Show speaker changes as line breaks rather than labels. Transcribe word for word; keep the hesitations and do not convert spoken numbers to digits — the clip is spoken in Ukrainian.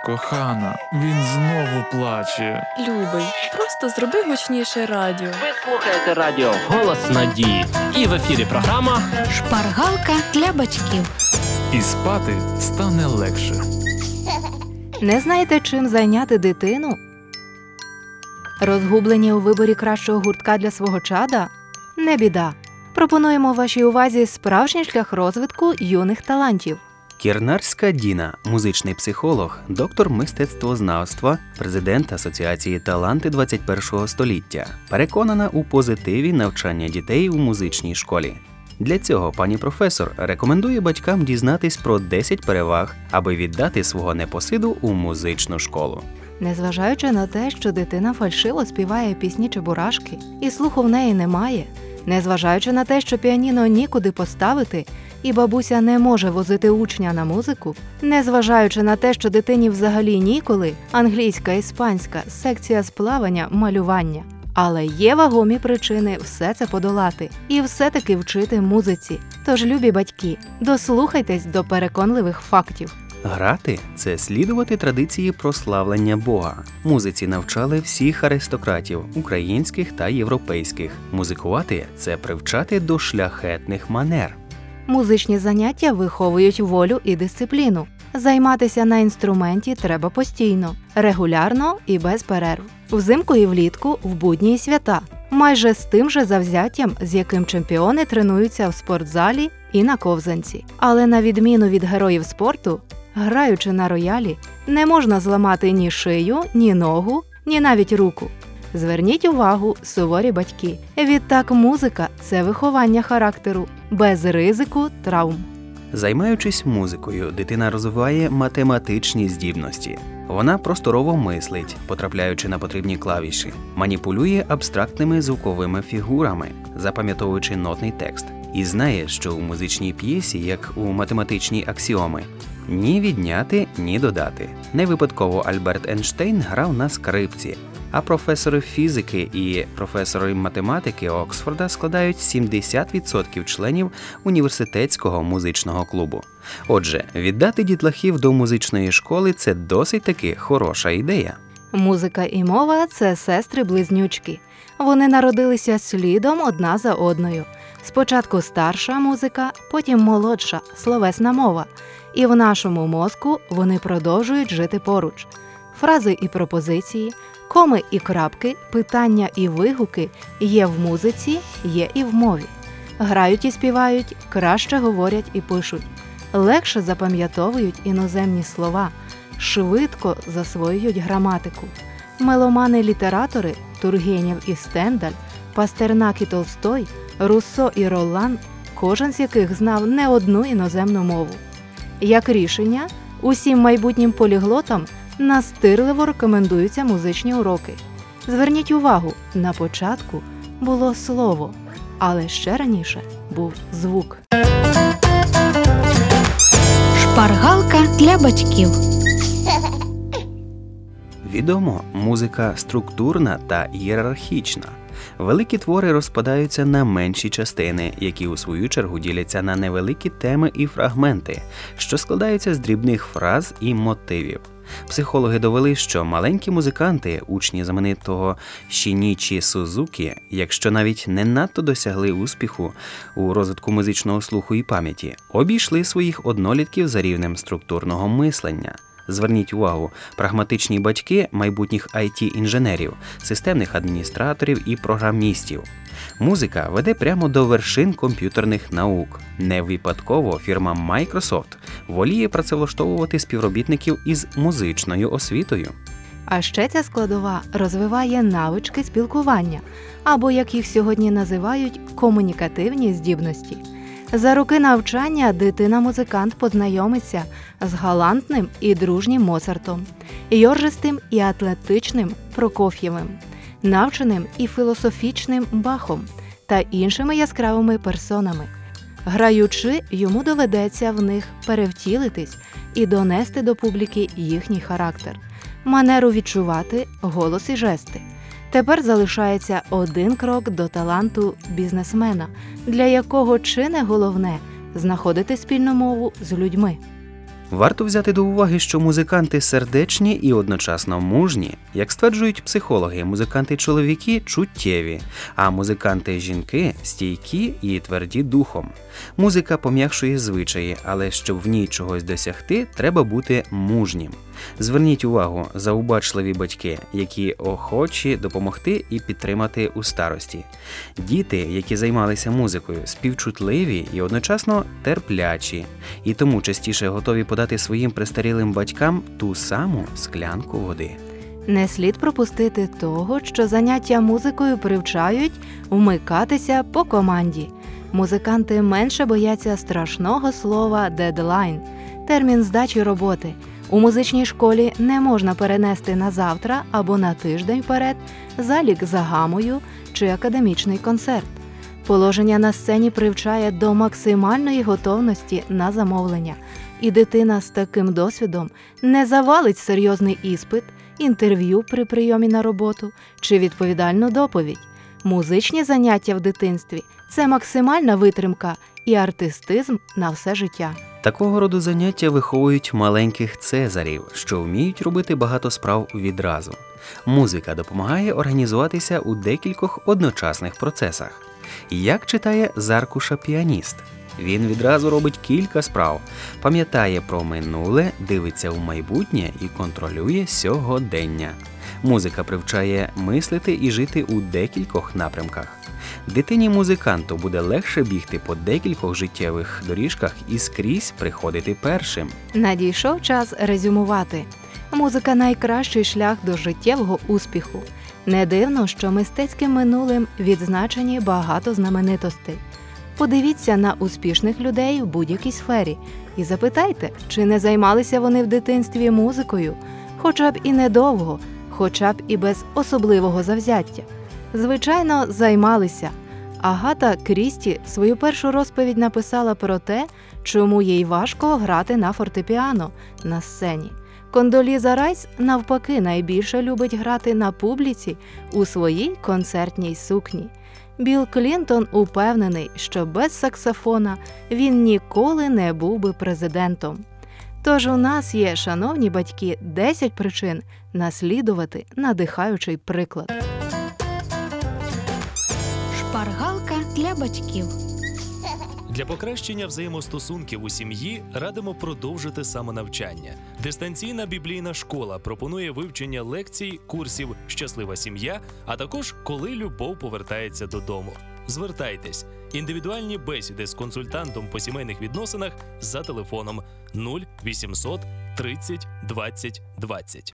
кохана, він знову плаче.
Любий, просто зроби гучніше радіо.
Ви слухаєте радіо «Голос надії». І в ефірі програма
«Шпаргалка для батьків».
І спати стане легше.
Не знаєте, чим зайняти дитину? Розгублені у виборі кращого гуртка для свого чада? Не біда. Пропонуємо вашій увазі справжній шлях розвитку юних талантів.
Кірнарська Діна, музичний психолог, доктор мистецтвознавства, президент Асоціації «Таланти двадцять першого століття», переконана у позитиві навчання дітей у музичній школі. Для цього пані професор рекомендує батькам дізнатись про десять переваг, аби віддати свого непосиду у музичну школу.
Незважаючи на те, що дитина фальшиво співає пісні Чебурашки, і слуху в неї немає, незважаючи на те, що піаніно нікуди поставити, і бабуся не може возити учня на музику, незважаючи на те, що дитині взагалі ніколи, англійська, іспанська, секція з плавання, малювання. Але є вагомі причини все це подолати і все-таки вчити музиці. Тож, любі батьки, дослухайтесь до переконливих фактів.
Грати – це слідувати традиції прославлення Бога. Музиці навчали всіх аристократів – українських та європейських. Музикувати – це привчати до шляхетних манер.
Музичні заняття виховують волю і дисципліну. Займатися на інструменті треба постійно, регулярно і без перерв. Взимку і влітку, в будні і свята. Майже з тим же завзяттям, з яким чемпіони тренуються в спортзалі і на ковзанці. Але на відміну від героїв спорту, граючи на роялі, не можна зламати ні шию, ні ногу, ні навіть руку. Зверніть увагу, суворі батьки. Відтак музика – це виховання характеру, без ризику травм.
Займаючись музикою, дитина розвиває математичні здібності. Вона просторово мислить, потрапляючи на потрібні клавіші, маніпулює абстрактними звуковими фігурами, запам'ятовуючи нотний текст. І знає, що у музичній п'єсі, як у математичній аксіоми, ні відняти, ні додати. Не випадково Альберт Ейнштейн грав на скрипці, а професори фізики і професори математики Оксфорда складають сімдесят відсотків членів університетського музичного клубу. Отже, віддати дітлахів до музичної школи – це досить таки хороша ідея.
Музика і мова – це сестри-близнючки. Вони народилися слідом одна за одною. Спочатку старша музика, потім молодша, словесна мова. І в нашому мозку вони продовжують жити поруч. Фрази і пропозиції, коми і крапки, питання і вигуки є в музиці, є і в мові. Грають і співають, краще говорять і пишуть. Легше запам'ятовують іноземні слова, швидко засвоюють граматику. Меломани-літератори Тургенєв і Стендаль, Пастернак і Толстой, Руссо і Ролан, кожен з яких знав не одну іноземну мову. Як рішення, усім майбутнім поліглотам настирливо рекомендуються музичні уроки. Зверніть увагу, на початку було слово, але ще раніше був звук.
Шпаргалка для батьків.
Відомо, музика структурна та ієрархічна. Великі твори розпадаються на менші частини, які у свою чергу діляться на невеликі теми і фрагменти, що складаються з дрібних фраз і мотивів. Психологи довели, що маленькі музиканти, учні знаменитого Шінічі Сузукі, якщо навіть не надто досягли успіху у розвитку музичного слуху і пам'яті, обійшли своїх однолітків за рівнем структурного мислення. Зверніть увагу, прагматичні батьки майбутніх ай ті-інженерів, системних адміністраторів і програмістів. Музика веде прямо до вершин комп'ютерних наук. Не випадково фірма Microsoft воліє працевлаштовувати співробітників із музичною освітою.
А ще ця складова розвиває навички спілкування, або, як їх сьогодні називають, комунікативні здібності. За роки навчання дитина-музикант познайомиться з галантним і дружнім Моцартом, йоржистим і атлетичним Прокоф'євим, навченим і філософічним Бахом та іншими яскравими персонами. Граючи, йому доведеться в них перевтілитись і донести до публіки їхній характер, манеру відчувати, голос і жести. Тепер залишається один крок до таланту бізнесмена, для якого чи не головне – знаходити спільну мову з людьми.
Варто взяти до уваги, що музиканти сердечні і одночасно мужні. Як стверджують психологи, музиканти-чоловіки чуттєві, а музиканти-жінки стійкі і тверді духом. Музика пом'якшує звичаї, але щоб в ній чогось досягти, треба бути мужнім. Зверніть увагу, заубачливі батьки, які охочі допомогти і підтримати у старості. Діти, які займалися музикою, співчутливі і одночасно терплячі, і тому частіше готові подати своїм престарілим батькам ту саму склянку води.
Не слід пропустити того, що заняття музикою привчають вмикатися по команді. Музиканти менше бояться страшного слова «дедлайн» – термін здачі роботи. У музичній школі не можна перенести на завтра або на тиждень вперед залік за гамою чи академічний концерт. Положення на сцені привчає до максимальної готовності на замовлення, і дитина з таким досвідом не завалить серйозний іспит, інтерв'ю при прийомі на роботу чи відповідальну доповідь. Музичні заняття в дитинстві – це максимальна витримка і артистизм на все життя.
Такого роду заняття виховують маленьких цезарів, що вміють робити багато справ відразу. Музика допомагає організуватися у декількох одночасних процесах. Як читає з аркуша піаніст? Він відразу робить кілька справ, пам'ятає про минуле, дивиться в майбутнє і контролює сьогодення. Музика привчає мислити і жити у декількох напрямках. Дитині-музиканту буде легше бігти по декількох життєвих доріжках і скрізь приходити першим.
Надійшов час резюмувати. Музика – найкращий шлях до життєвого успіху. Не дивно, що мистецьким минулим відзначені багато знаменитостей. Подивіться на успішних людей в будь-якій сфері і запитайте, чи не займалися вони в дитинстві музикою, хоча б і недовго, хоча б і без особливого завзяття. Звичайно, займалися. Агата Крісті свою першу розповідь написала про те, чому їй важко грати на фортепіано на сцені. Кондоліза Райс, навпаки, найбільше любить грати на публіці у своїй концертній сукні. Білл Клінтон упевнений, що без саксофона він ніколи не був би президентом. Тож у нас є, шановні батьки, десять причин наслідувати надихаючий приклад.
Шпаргалка для батьків.
Для покращення взаємостосунків у сім'ї радимо продовжити самонавчання. Дистанційна біблійна школа пропонує вивчення лекцій, курсів «Щаслива сім'я», а також «Коли любов повертається додому». Звертайтесь. Індивідуальні бесіди з консультантом по сімейних відносинах за телефоном нуль вісімсот тридцять двадцять двадцять.